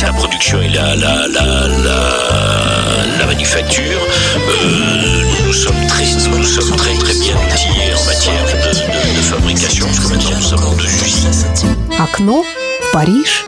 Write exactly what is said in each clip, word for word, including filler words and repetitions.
la production et la, la, la, la, la manufacture. Euh, nous sommes très, nous sommes très très bien outillés en matière de, de, de fabrication, parce que maintenant nous avons deux usines. Окно в Париж.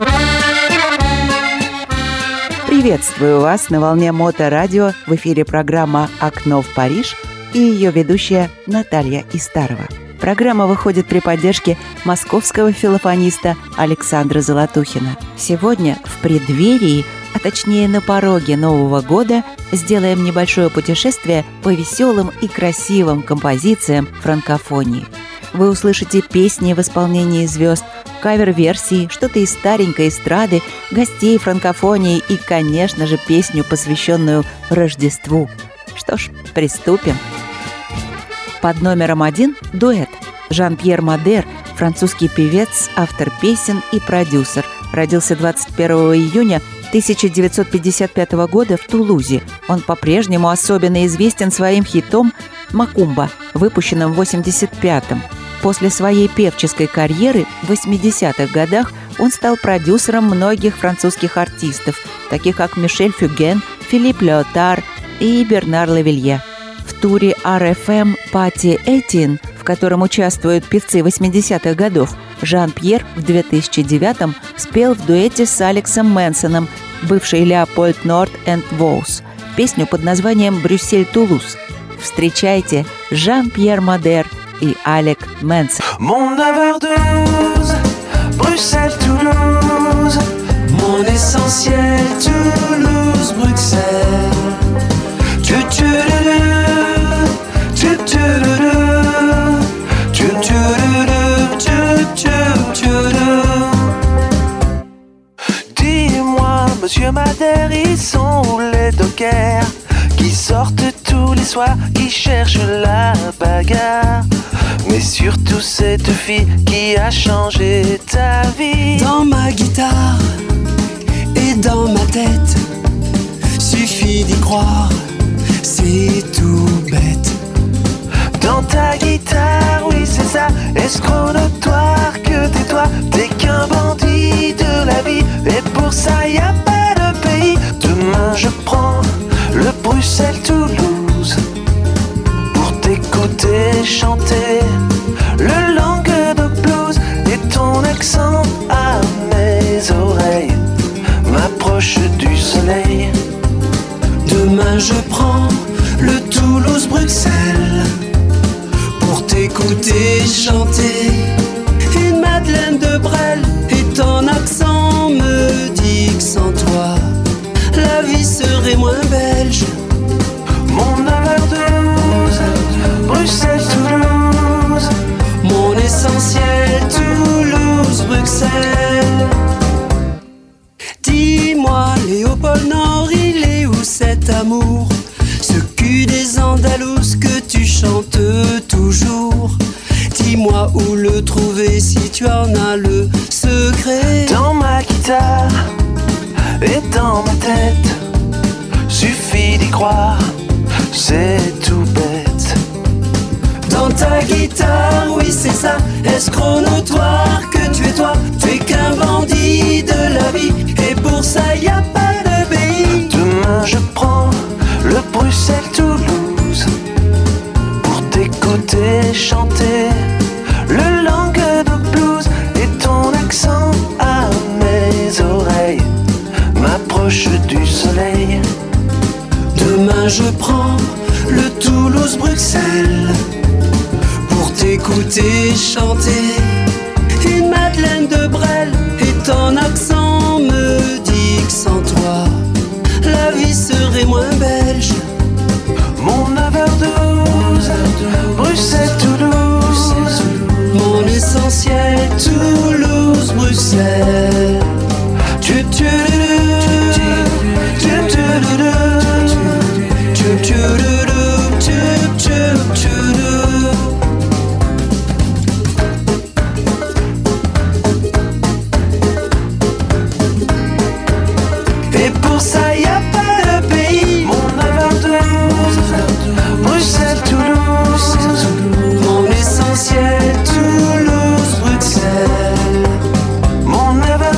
Приветствую вас на волне Моторадио. В эфире программа «Окно в Париж» и ее ведущая Наталья Истарова. Программа выходит при поддержке московского филофониста Александра Золотухина. Сегодня в преддверии, а точнее на пороге Нового года, сделаем небольшое путешествие по веселым и красивым композициям франкофонии. Вы услышите песни в исполнении звезд, кавер-версии, что-то из старенькой эстрады, гостей франкофонии и, конечно же, песню, посвященную Рождеству. Что ж, приступим. Под номером один – дуэт. Жан-Пьер Модер, французский певец, автор песен и продюсер. Родился двадцать первого июня тысяча девятьсот пятьдесят пятого года в Тулузе. Он по-прежнему особенно известен своим хитом «Макумба», выпущенным в восемьдесят пятом. После своей певческой карьеры в восьмидесятых годах он стал продюсером многих французских артистов, таких как Мишель Фюген, Филипп Леотар и Бернар Лавилье. В туре ар эф эм «Пати Этьен», в котором участвуют певцы восьмидесятых годов, Жан-Пьер в две тысячи девятом спел в дуэте с Алексом Мэнсоном, бывший Леопольд Норд энд Воус, песню под названием «Брюссель-Тулуз». Встречайте Жан-Пьер Модер и Алек Мэнсон. Mon neuf heures douze, Bruxelles, Toulouse. Mon essentiel, Toulouse, Bruxelles. Tu tu tu tu tu tu tu Dis-moi, monsieur Madère, ils sont où les dockers qui sortent tous les soirs, qui cherchent la bagarre? Mais surtout cette fille qui a changé ta vie. Dans ma guitare et dans ma tête, suffit d'y croire, c'est tout bête. Dans ta guitare, oui c'est ça, escroc notoire que t'es toi. T'es qu'un bandit de la vie, et pour ça y a pas de pays. Demain je prends le Bruxelles-Toulouse pour t'écouter chanter le Languedoc blues, et ton accent à mes oreilles m'approche du soleil. Demain je prends le Toulouse-Bruxelles pour t'écouter chanter une Madeleine de Brel, et ton accent me dit que sans toi la vie serait moins belge. Mon neuf heures douze, Bruxelles-Toulouse. Mon essentiel, Toulouse-Bruxelles. Dis-moi, Léopold Nord, il est où cet amour? Ce cul des Andalouses que tu chantes toujours. Dis-moi où le trouver si tu en as le secret. Dans ma guitare et dans ma tête, suffit d'y croire, c'est tout bête. Dans ta guitare, oui c'est ça, escroc notoire que tu es toi. Tu es qu'un bandit de la vie, et pour ça y a pas de pays. Demain je prends le Bruxelles-Toulouse pour t'écouter chanter le Languedoc blues, et ton accent à mes oreilles m'approche du soleil. Demain je prends le Toulouse-Bruxelles pour t'écouter chanter une Madeleine de Brel, et ton accent me dit que sans toi la vie serait moins belge. Mon neuf heures douze, Bruxelles-Toulouse. Mon essentiel, Toulouse-Bruxelles. Tu tu tu tu tu Et pour ça y a pas de pays. Mon neuf heures douze, Bruxelles-Toulouse. Mon essentiel, Toulouse-Bruxelles. Mon neuf heures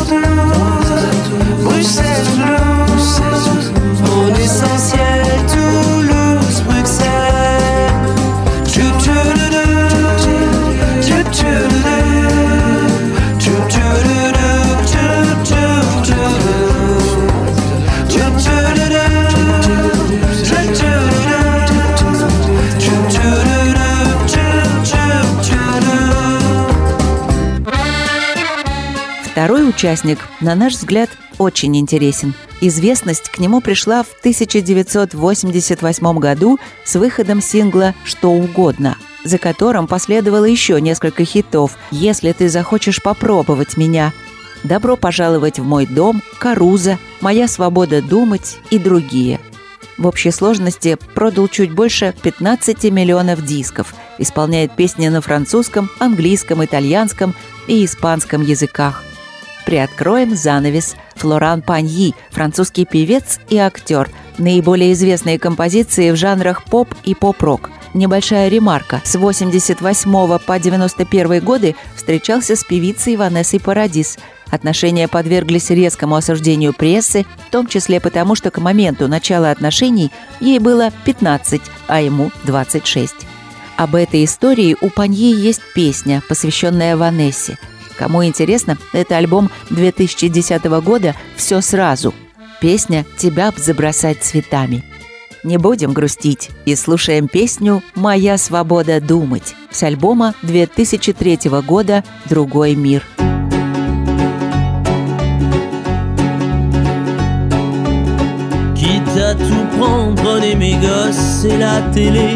Второй участник, на наш взгляд, очень интересен. Известность к нему пришла в тысяча девятьсот восемьдесят восьмом году с выходом сингла «Что угодно», за которым последовало еще несколько хитов «Если ты захочешь попробовать меня», «Добро пожаловать в мой дом», «Каруза», «Моя свобода думать» и другие. В общей сложности продал чуть больше пятнадцати миллионов дисков, исполняет песни на французском, английском, итальянском и испанском языках. Приоткроем занавес. Флоран Паньи, французский певец и актер. Наиболее известные композиции в жанрах поп и поп-рок. Небольшая ремарка. С восемьдесят восьмого по девяносто первый годы встречался с певицей Ванессой Парадис. Отношения подверглись резкому осуждению прессы, в том числе потому, что к моменту начала отношений ей было пятнадцать, а ему двадцать шесть. Об этой истории у Паньи есть песня, посвященная Ванессе. Кому интересно, это альбом две тысячи десятого года «Все сразу». Песня «Тебя б забросать цветами». Не будем грустить и слушаем песню «Моя свобода думать» с альбома две тысячи третьего года «Другой мир». Quitte à tout prendre, prenez mes gosses et la télé,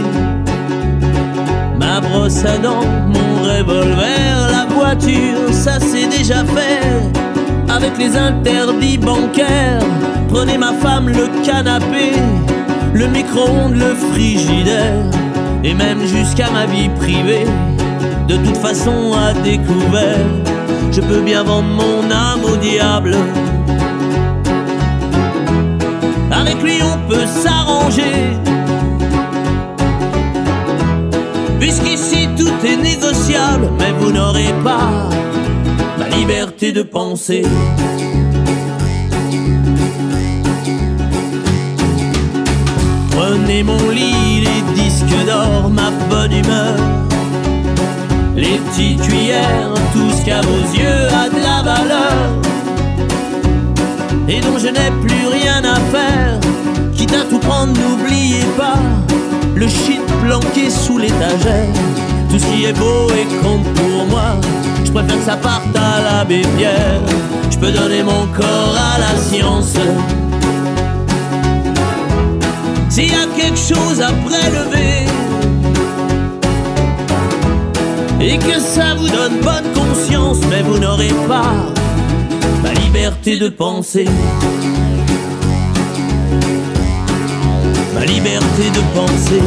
ma brosse à dents, mon revolver, la voiture, ça c'est déjà fait. Avec les interdits bancaires, prenez ma femme, le canapé, le micro-ondes, le frigidaire, et même jusqu'à ma vie privée. De toute façon à découvert, je peux bien vendre mon âme au diable. Avec lui on peut s'arranger, puisqu'ici tout est négociable. Mais vous n'aurez pas ma liberté de penser. Prenez mon lit, les disques d'or, ma bonne humeur, les petites cuillères, tout ce qu'à vos yeux a de la valeur et dont je n'ai plus rien à faire. Quitte à tout prendre, n'oubliez pas le shit planqué sous l'étagère. Tout ce qui est beau et compte pour moi, je préfère que ça parte à l'abbé Pierre. Je peux donner mon corps à la science. S'il y a quelque chose à prélever et que ça vous donne bonne conscience, mais vous n'aurez pas ma liberté de penser. Ma liberté de penser.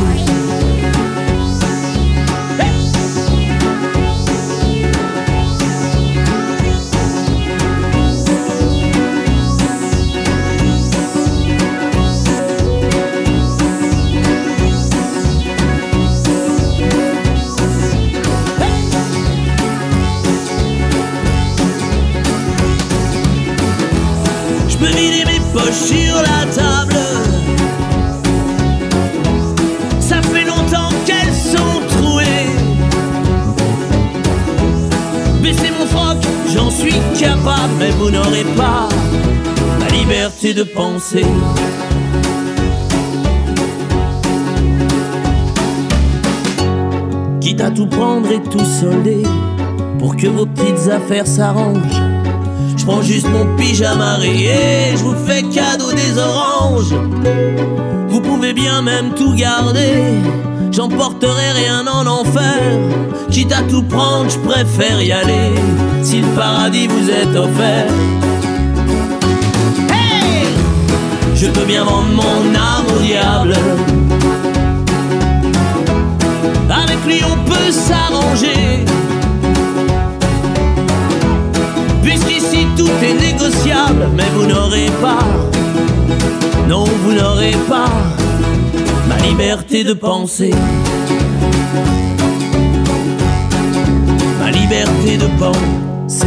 Je peux vider mes poches sur la table. Ça fait longtemps qu'elles sont trouées. Baisser mon froc, j'en suis capable. Mais vous n'aurez pas ma liberté de penser. Quitte à tout prendre et tout solder pour que vos petites affaires s'arrangent, je prends juste mon pyjama rayé, je vous fais cadeau des oranges. Vous pouvez bien même tout garder, j'emporterai rien en enfer. Quitte à tout prendre, je préfère y aller, si le paradis vous est offert. Hey! Je peux bien vendre mon âme au diable. Avec lui on peut s'arranger, puisqu'ici tout est négociable. Mais vous n'aurez pas, non vous n'aurez pas ma liberté de penser. Ma liberté de penser.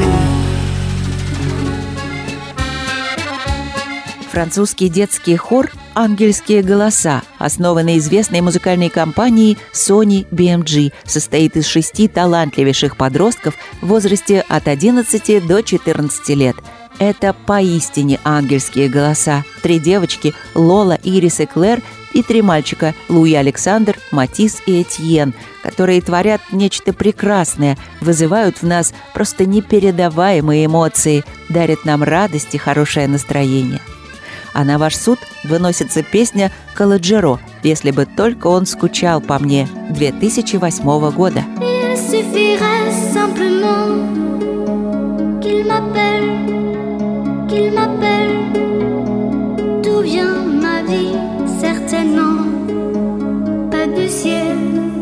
Французский детский хор «Ангельские голоса», основанный известной музыкальной компанией Sony би эм джи, состоит из шести талантливейших подростков в возрасте от одиннадцати до четырнадцати лет. Это поистине ангельские голоса. Три девочки – Лола, Ирис и Клэр – и три мальчика – Луи Александр, Матис и Этьен, которые творят нечто прекрасное, вызывают в нас просто непередаваемые эмоции, дарят нам радость и хорошее настроение. А на ваш суд выносится песня «Каладжеро», «Если бы только он скучал по мне» две тысячи восьмого года. Il suffirait simplement qu'il m'appelle, qu'il m'appelle. D'où vient ma vie? Certainement pas du ciel.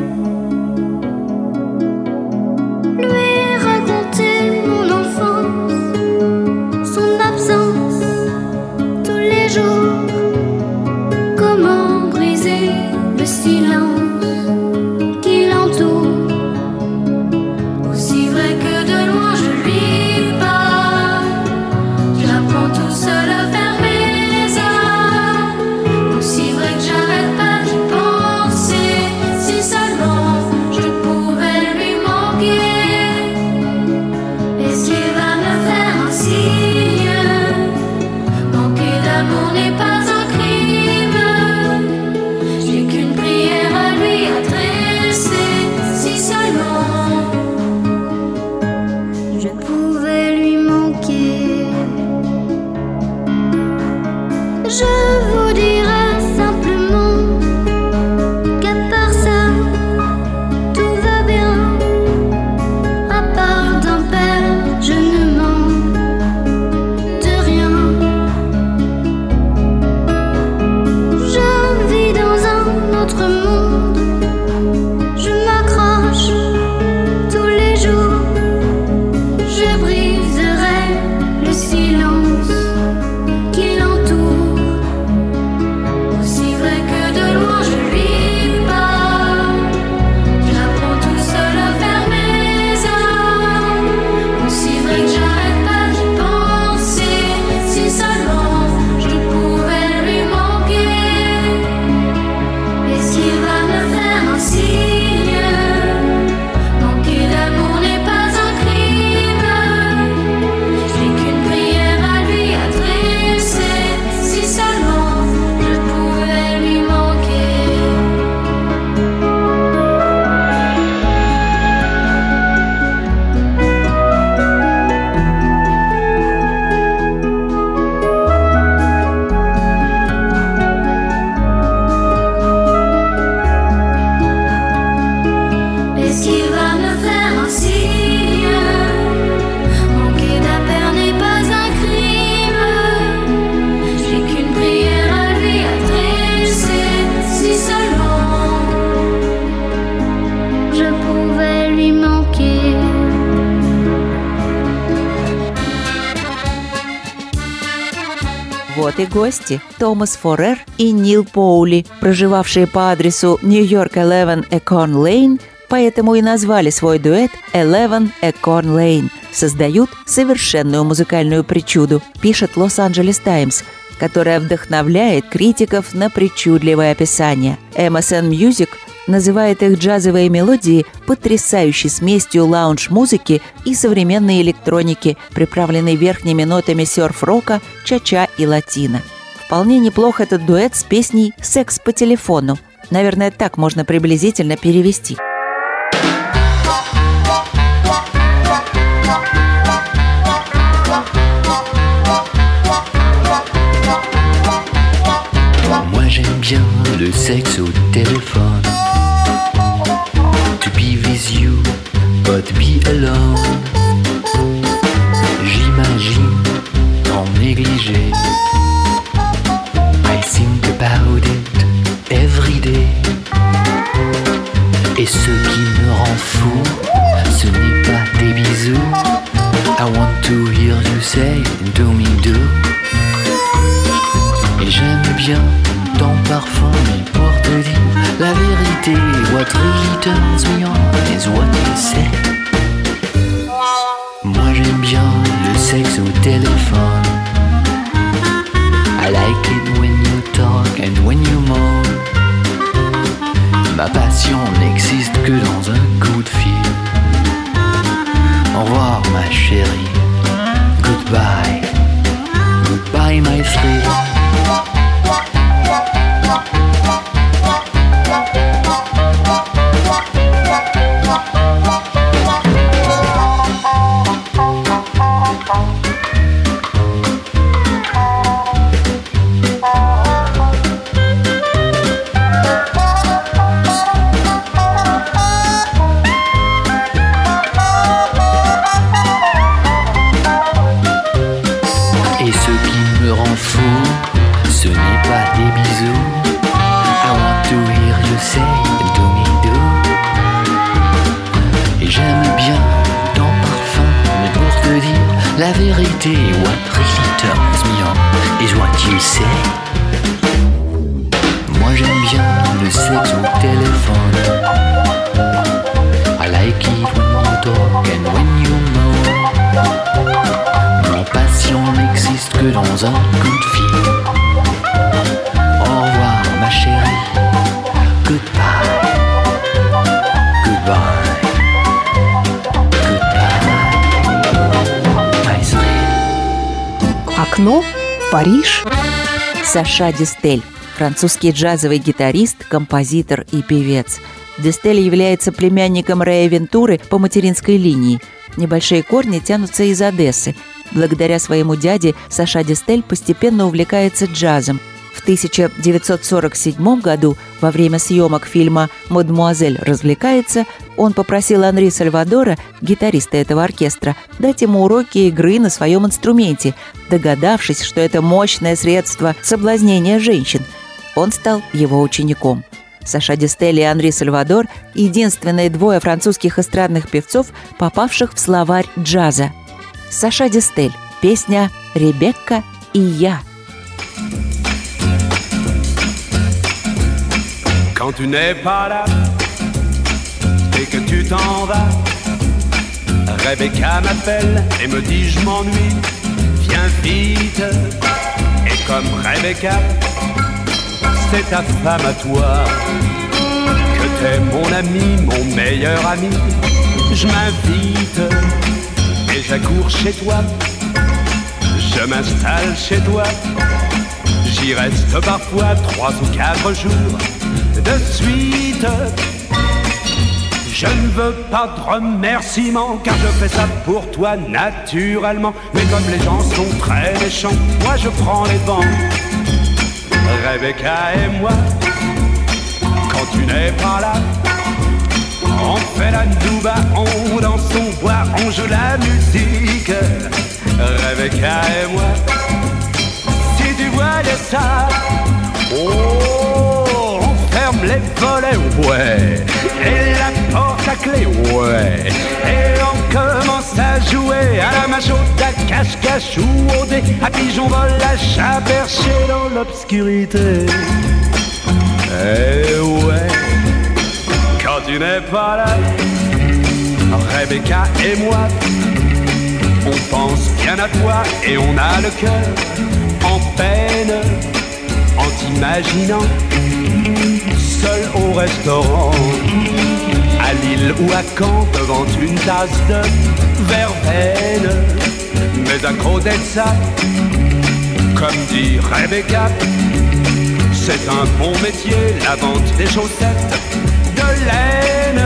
Lui raconter mon enfance, son absence tous les jours. Comment briser le silence qui l'entoure? Aussi vrai que de loin je lui parle, j'apprends tout seul à fermer les yeux. Aussi vrai que j'arrête pas d'y penser, si seulement je pouvais lui manquer. Est-ce qu'il va me faire un signe? Manquer d'amour n'est pas un crime. J'ai qu'une prière à lui adresser, si seulement je pouvais lui manquer. Je vous dirais simplement qu'à part ça, tout va bien. À part d'un père, je ne manque de rien. Je vis dans un autre monde, je m'accroche tous les jours. Je briserai le silence qui l'entoure. Aussi vrai que de loin je lui parle, j'apprends tout seul à fermer les yeux. Aussi vrai que j'arrête pas d'y penser, si seulement je pouvais lui manquer. Est-ce qu'il va me faire un signe? Manquer d'amour n'est pas un crime. J'ai qu'une prière à lui adresser, si seulement je pouvais lui manquer. Est-ce qu'il va me faire un signe? Manquer d'appel n'est pas un crime. J'ai qu'une prière à lui adresser, si seulement je pouvais lui manquer. Вот и гости – Томас Форер и Нил Поули, проживавшие по адресу Нью-Йорк одиннадцать Экон Лейн, поэтому и назвали свой дуэт одиннадцать Экон Лейн. Создают совершенную музыкальную причуду, пишет Лос-Анджелес Таймс, которая вдохновляет критиков на причудливое описание. эм эс эн Music называет их джазовые мелодии потрясающей смесью лаунж-музыки и современной электроники, приправленной верхними нотами сёрф-рока, ча-ча и латино. Вполне неплох этот дуэт с песней «Секс по телефону». Наверное, так можно приблизительно перевести. Moi j'aime bien le sexe au téléphone. To be with you, but be alone. J'imagine en négligé. I think about it every day. Et ce qui me rend fou, ce n'est pas des bisous. I want to hear you say, do me do. Et j'aime bien ton parfum, mais pour te dire la vérité, what really turns me on is what you say. Moi j'aime bien le sexe au téléphone. I like it when you talk and when you moan. Ma passion n'existe que dans un coup de fil. Au revoir ma chérie, goodbye, goodbye my thrill. la vérité, what really turns me on is what you say. Moi j'aime bien le sexe au téléphone. I like it when you talk and when you moan. Mon passion n'existe que dans un coup de fil. Au revoir ma chérie. Goodbye. Goodbye. Окно в Париж. Саша Дистель – французский джазовый гитарист, композитор и певец. Дистель является племянником Рэя Вентуры по материнской линии. Небольшие корни тянутся из Одессы. Благодаря своему дяде Саша Дистель постепенно увлекается джазом. В тысяча девятьсот сорок седьмом году, во время съемок фильма «Мадемуазель развлекается», он попросил Анри Сальвадора, гитариста этого оркестра, дать ему уроки игры на своем инструменте, догадавшись, что это мощное средство соблазнения женщин. Он стал его учеником. Саша Дистель и Анри Сальвадор – единственные двое французских эстрадных певцов, попавших в словарь джаза. Саша Дистель. Песня «Ребекка и я». Quand tu n'es pas là et que tu t'en vas, Rebecca m'appelle et me dit je m'ennuie, viens vite. Et comme Rebecca, c'est ta femme à toi, que t'es mon ami, mon meilleur ami, je m'invite et j'accours chez toi, je m'installe chez toi, j'y reste parfois trois ou quatre jours de suite. Je ne veux pas de remerciements, car je fais ça pour toi naturellement. Mais comme les gens sont très méchants, moi je prends les vents. Rebecca et moi, quand tu n'es pas là, on fait la douba, on danse, on boit, on joue la musique. Rebecca et moi, si tu voyais ça, oh, ferme les volets, ouais, et la porte à clé, ouais, et on commence à jouer à la machode, à cache-cache ou au dé, à pigeon vol, à chat perché dans l'obscurité. Eh ouais, quand tu n'es pas là, Rebecca et moi, on pense bien à toi et on a le cœur en peine, en t'imaginant seul au restaurant, à Lille ou à Caen, devant une tasse de verveine. Mais à côté de ça, comme dit Rebecca, c'est un bon métier, la vente des chaussettes de laine.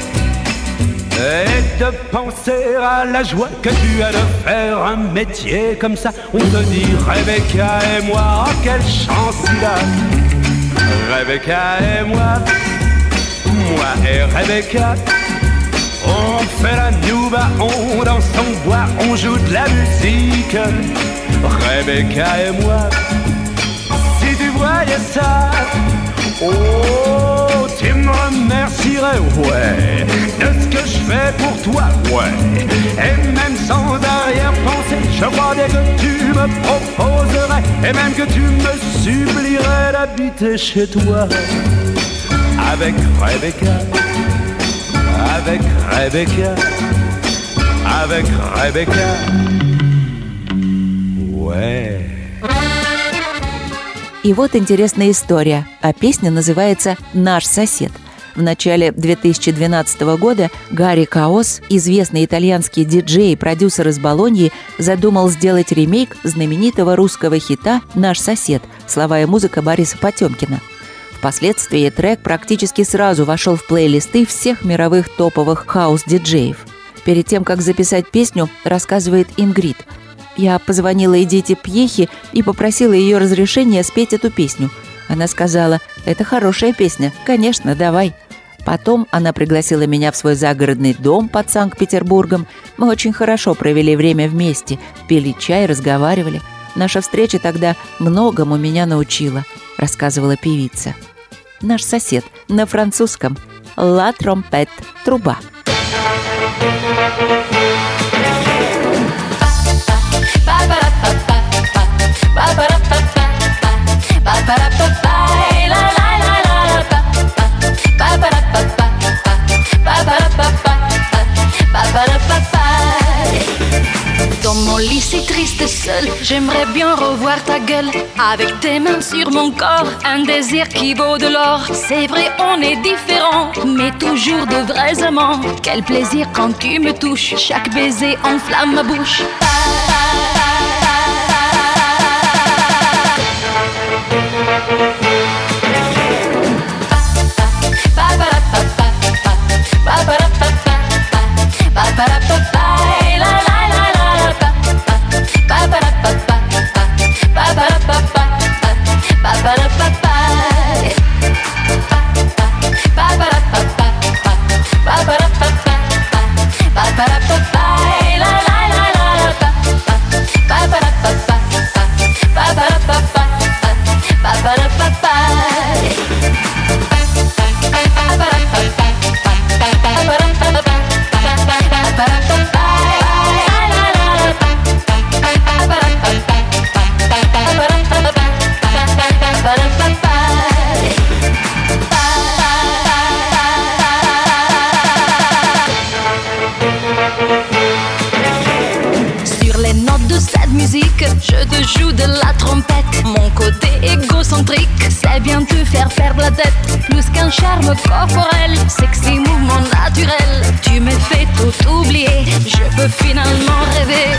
Et de penser à la joie que tu as de faire un métier comme ça. On te dit Rebecca et moi, oh, quelle chance il a. Rebecca et moi, moi et Rebecca, on fait la nouba, on danse, on boit, on joue de la musique. Rebecca et moi, si tu voyais ça, oh, tu me remercierais, ouais, de ce que je fais pour toi, ouais. Et même sans arrière-pensée, je crois bien que tu me proposerais, et même que tu me supplierais d'habiter chez toi. Avec Rebecca, avec Rebecca, avec Rebecca, ouais. И вот интересная история, а песня называется «Наш сосед». В начале две тысячи двенадцатого года Гарри Каос, известный итальянский диджей и продюсер из Болоньи, задумал сделать ремейк знаменитого русского хита «Наш сосед», слова и музыка Бориса Потемкина. Впоследствии трек практически сразу вошел в плейлисты всех мировых топовых хаус-диджеев. Перед тем, как записать песню, рассказывает Ингрид: «Я позвонила Эдите Пьехи и попросила ее разрешения спеть эту песню. Она сказала: это хорошая песня, конечно, давай». Потом она пригласила меня в свой загородный дом под Санкт-Петербургом. Мы очень хорошо провели время вместе, пили чай, разговаривали. Наша встреча тогда многому меня научила, рассказывала певица. «Наш сосед» на французском «La trompette» – труба. vie si triste seule. J'aimerais bien revoir ta gueule avec tes mains sur mon corps. Un désir qui vaut de l'or. C'est vrai, on est différents, mais toujours de vrais amants. Quel plaisir quand tu me touches. Chaque baiser enflamme ma bouche. Je te joue de la trompette. Mon côté égocentrique sait bien te faire perdre la tête. Plus qu'un charme corporel, sexy mouvement naturel. Tu me fais tout oublier, je peux finalement rêver.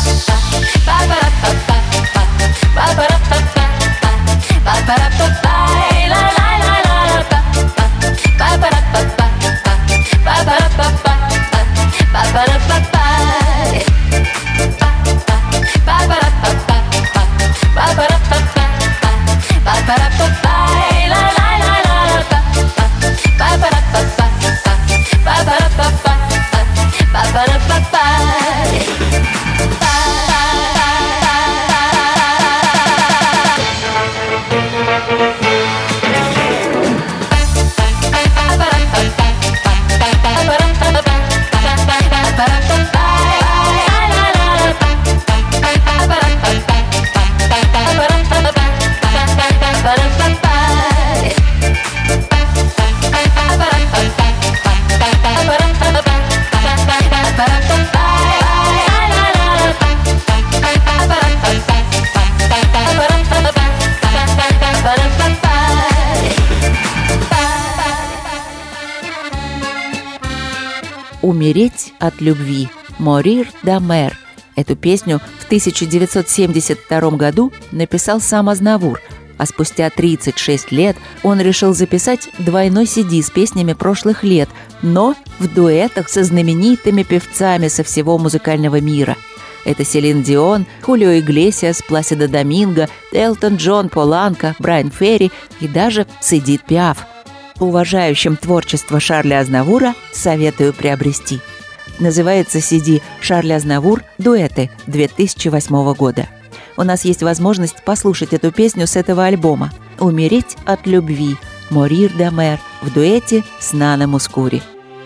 «Умереть от любви» «Mourir d'amour». Эту песню в тысяча девятьсот семьдесят втором году написал сам Азнавур, а спустя тридцать шесть лет он решил записать двойной си ди с песнями прошлых лет, но в дуэтах со знаменитыми певцами со всего музыкального мира. Это Селин Дион, Хулио Иглесиас, Пласидо Доминго, Элтон Джон, Пол Анка, Брайан Ферри и даже Эдит Пиаф. Уважающим творчество Шарля Азнавура советую приобрести. Называется си ди «Шарль Азнавур. Дуэты» две тысячи восьмого года. У нас есть возможность послушать эту песню с этого альбома «Умереть от любви» «Mourir d'amour» в дуэте с Нана Мускури.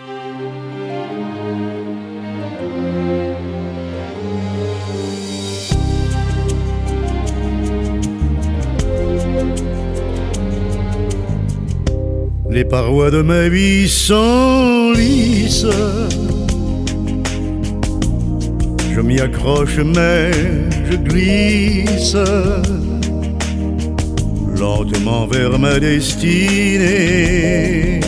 Les parois de ma vie sont lisses. Je m'y accroche mais je glisse lentement vers ma destinée.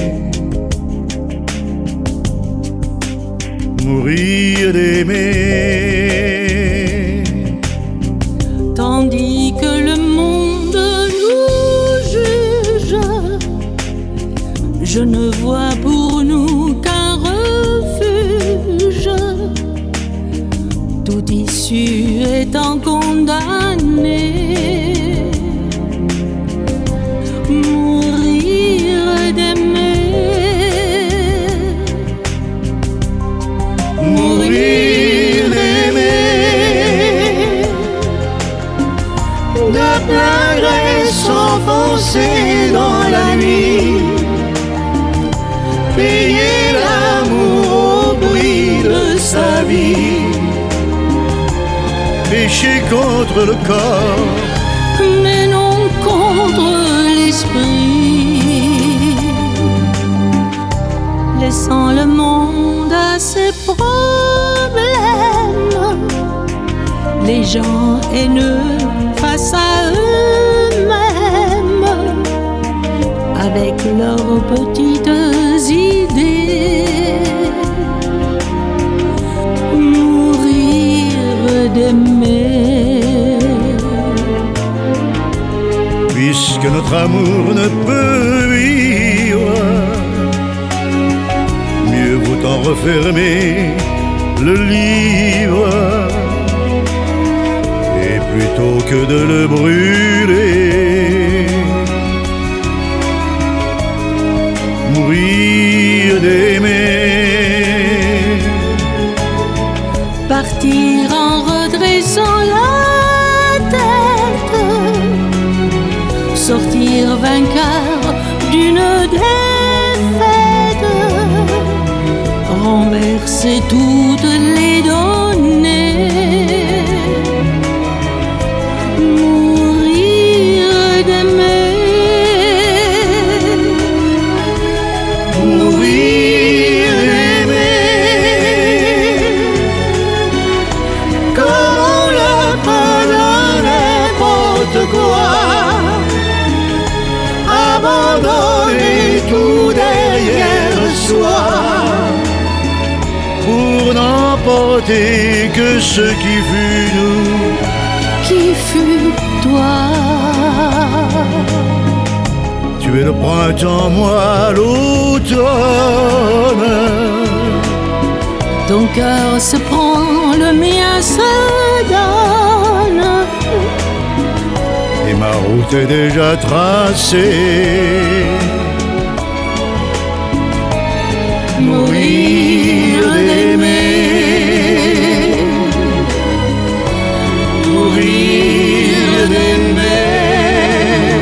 Mourir d'aimer. Tandis que le monde nous juge, je ne vois pour nous qu'un refuge. Toute issue étant condamnée. Mourir d'aimer. Mourir d'aimer. De plein gré s'enfoncer dans la nuit. Payer l'amour au prix de sa vie. Pécher contre le corps, mais non contre l'esprit. Laissant le monde à ses problèmes les gens haineux face à eux-mêmes, avec leurs petites idées. Mourir d'aimer. Puisque notre amour ne peut vivre, mieux vaut en refermer le livre, et plutôt que de le brûler, mourir d'aimer. Partir en redressant la tête, sortir vainqueur d'une défaite, renverser toutes les données, mourir d'aimer, mourir d'aimer, comme on le peut dans n'importe quoi, abandonner tout derrière soi, pour n'emporter que ce qui fut nous, qui fut toi. Tu es le printemps, moi l'automne. Ton cœur se prend, le mien se donne, et ma route est déjà tracée. Mourir d'aimer, mourir d'aimer,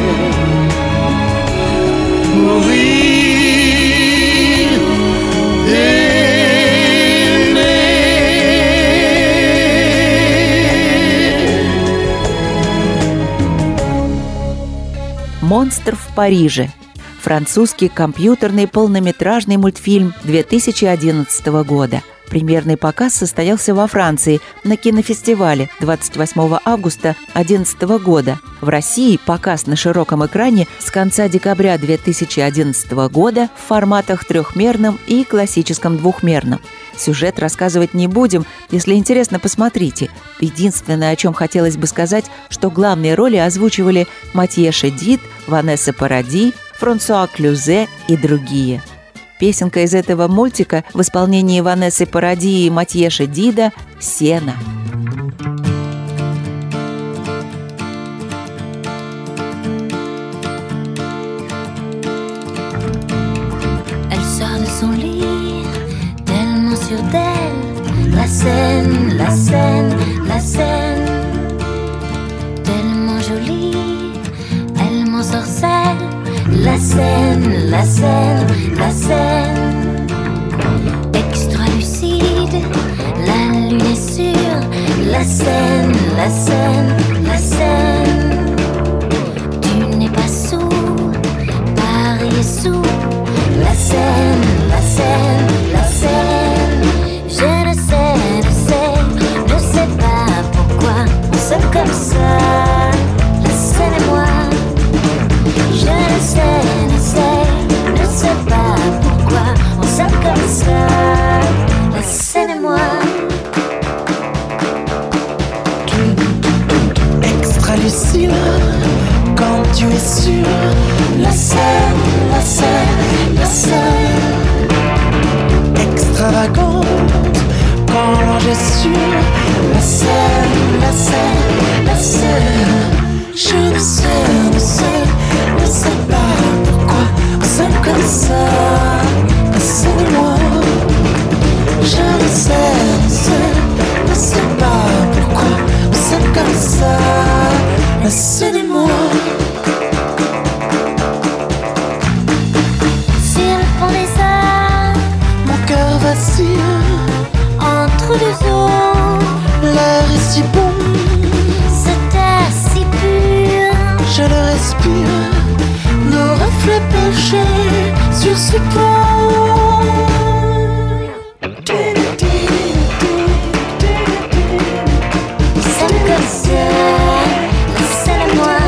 mourir d'aimer. «Монстр в Париже» – французский компьютерный полнометражный мультфильм две тысячи одиннадцатого года. Премьерный показ состоялся во Франции на кинофестивале двадцать восьмого августа две тысячи одиннадцатого года. В России показ на широком экране с конца декабря две тысячи одиннадцатого года в форматах трехмерном и классическом двухмерном. Сюжет рассказывать не будем, если интересно, посмотрите. Единственное, о чем хотелось бы сказать, что главные роли озвучивали Матье Шедид, Ванесса Паради, Франсуа Клюзе и другие. Песенка из этого мультика в исполнении Ванессы Паради и Матье Шедида «Сена». Elle sort de son lit, tellement sûre d'elle. La scène, la scène, la scène, tellement jolie, elle m'ensorcelle. La scène, la scène, la scène, extra lucide, la lune est sûre. La scène, la scène, la scène, tu n'es pas sourd, Paris est sourd. La scène, la scène, la scène, je ne sais, ne sais, ne sais pas pourquoi on s'aime comme ça. La scène et moi, je ne sais, ne sais, ne sais pas pourquoi on s'aime comme ça. La scène et moi. Extra lucide, quand tu es sûr. La scène, la scène, la scène, extravagante, quand l'ange est sûr. La scène, la scène, la scène, je ne sais, ne sais, ne sais pas pourquoi on s'aime comme ça. La scène et moi, je ne sais, ne sais, ne sais pas pourquoi on s'aime comme ça. La scène et moi. Sur le pont des arts, Mon cœur vacille entre deux eaux, l'air est si bon, cet air si pur. je le respire. Nos reflets penchés sur ce pont. comme ça, seul à moi.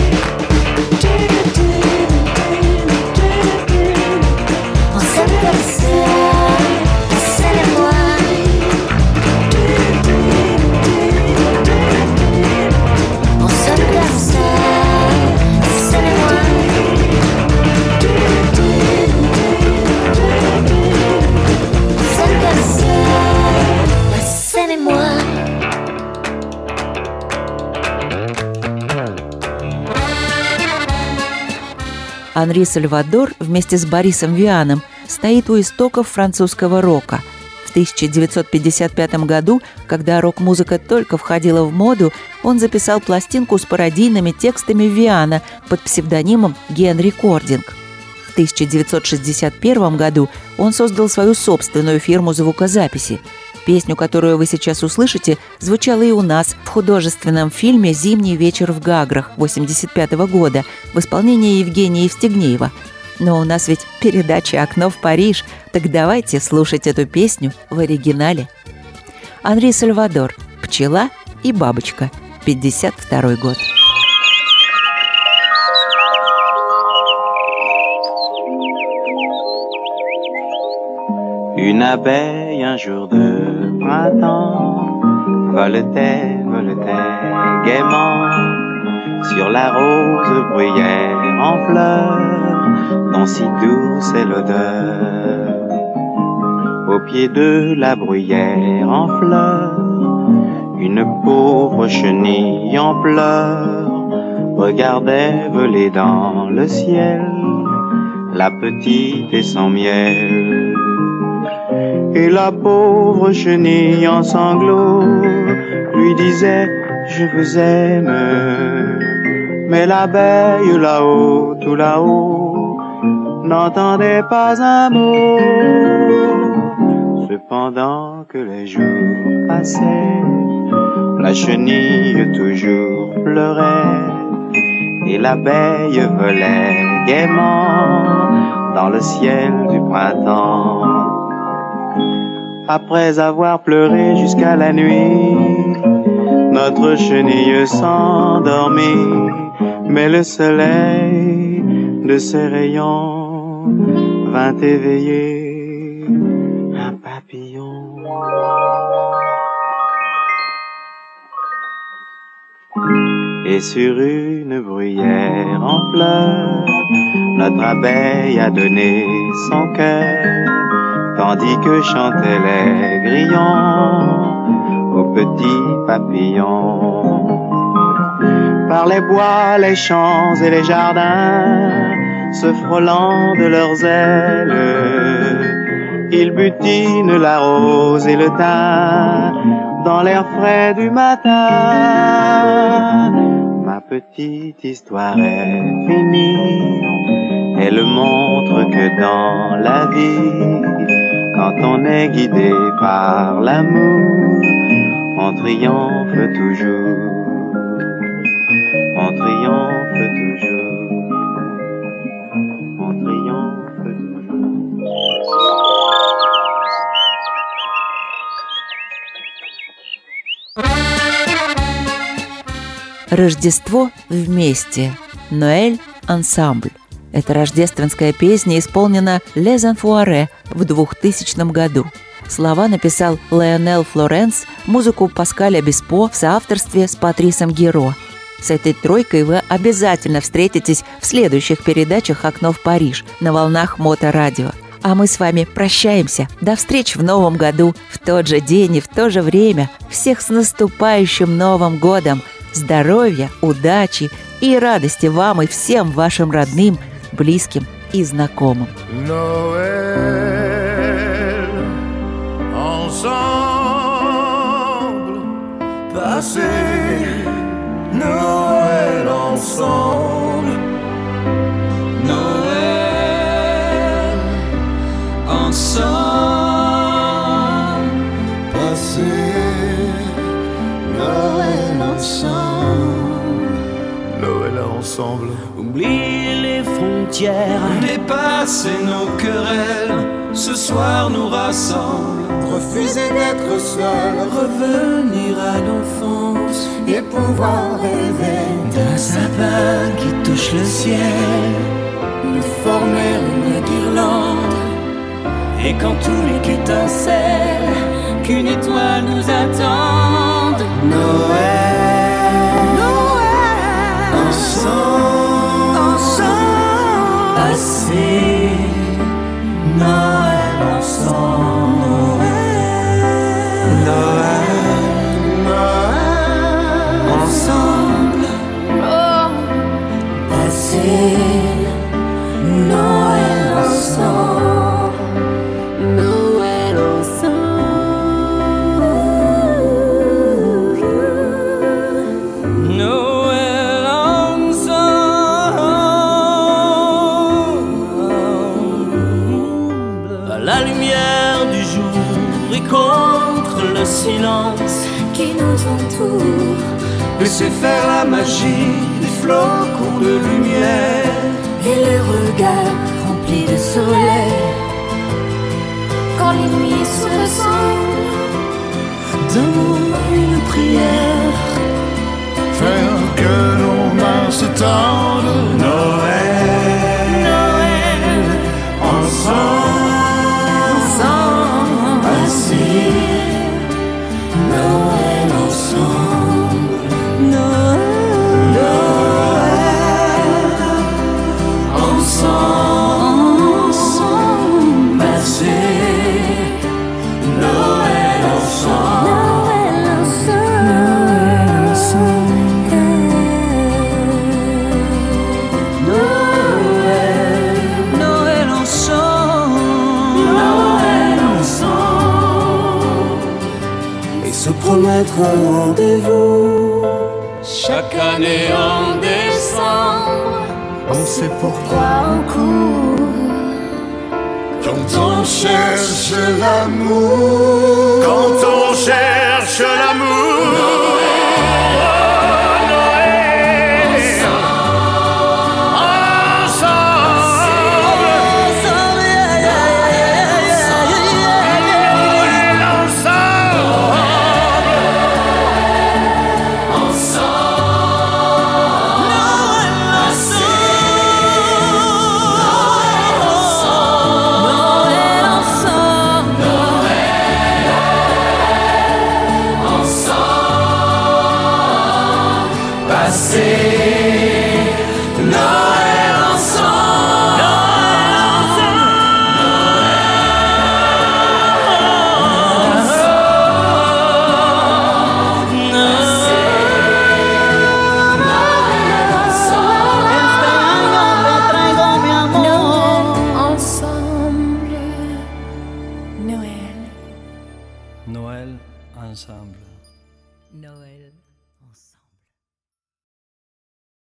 On s'aime comme ça, seul à moi. On s'aime comme ça, seul à moi. On s'aime comme ça, seul et moi. Анри Сальвадор вместе с Борисом Вианом стоит у истоков французского рока. В тысяча девятьсот пятьдесят пятом году, когда рок-музыка только входила в моду, он записал пластинку с пародийными текстами Виана под псевдонимом Ген Рекординг. В тысяча девятьсот шестьдесят первом году он создал свою собственную фирму звукозаписи. Песню, которую вы сейчас услышите, звучала и у нас в художественном фильме «Зимний вечер в Гаграх» восемьдесят пятого года в исполнении Евгения Евстигнеева. Но у нас ведь передача «Окно в Париж», так давайте слушать эту песню в оригинале. Анри Сальвадор, «Пчела и бабочка», пятьдесят второй год. Une abeille un jour de printemps voletait, voletait gaiement sur la rose bruyère en fleurs dont si douce est l'odeur. Au pied de la bruyère en fleurs, une pauvre chenille en pleurs regardait voler dans le ciel la petite et son miel. Et la pauvre chenille en sanglots lui disait « Je vous aime ». Mais l'abeille là-haut, tout là-haut, n'entendait pas un mot. Cependant que les jours passaient, la chenille toujours pleurait et l'abeille volait gaiement dans le ciel du printemps. Après avoir pleuré jusqu'à la nuit, notre chenille s'endormit, mais le soleil de ses rayons vint éveiller un papillon. Et sur une bruyère en fleurs, notre abeille a donné son cœur, tandis que chantaient les grillons aux petits papillons. Par les bois, les champs et les jardins, se frôlant de leurs ailes, ils butinent la rose et le thym dans l'air frais du matin. Ma petite histoire est finie, elle montre que dans la vie, quand on est guidé par l'amour, on triomphe toujours, on triomphe toujours, on triomphe toujours. Рождество вместе. Ноэль ансамбль. Эта рождественская песня исполнена Les Enfoirés в двухтысячном году. Слова написал Леонел Флоренс, музыку Паскаль Обеспо в соавторстве с Патрисом Геро. С этой тройкой вы обязательно встретитесь в следующих передачах «Окно в Париж» на волнах Моторадио. А мы с вами прощаемся. До встречи в новом году, в тот же день и в то же время. Всех с наступающим Новым годом! Здоровья, удачи и радости вам и всем вашим родным, близким и знакомым. Noël, ensemble, passer Noël ensemble. Noël, ensemble, passer Noël ensemble. Noël ensemble. Oubliez les frontières, Dépasser nos querelles, ce soir nous rassemble. refuser d'être seul, Revenir à l'enfance et pouvoir rêver d'un sapin qui touche le ciel, de former une guirlande. Et quand tout n'est qu'étincelle, qu'une étoile nous attende. Noël, Noël, ensemble, ensemble, passer Noël ensemble. Noël, Noël, ensemble, Oh, passer Noël ensemble. Noël ensemble. Noël ensemble. À la lumière du jour et contre le silence Qui nous entoure, laissez faire la magie des flocons de lumière. et les regards remplis de soleil. Quand les nuits se ressemblent, Donne-moi une prière. Faire que nos mains se tendent. Noël, Noël ensemble, Ensemble, passer Noël ensemble. Noël, ensemble, ensemble, passer Noël ensemble. Noël ensemble. Noël ensemble. Noël, Noël ensemble. Noël ensemble. et se promettre un rendez-vous. Chaque année en décembre, On sait pourquoi. Quoi on court, Quand on cherche l'amour. Quand on cherche l'amour. Noël ensemble. Passer Noël ensemble. Ensemble. Noël. Noël ensemble. Noël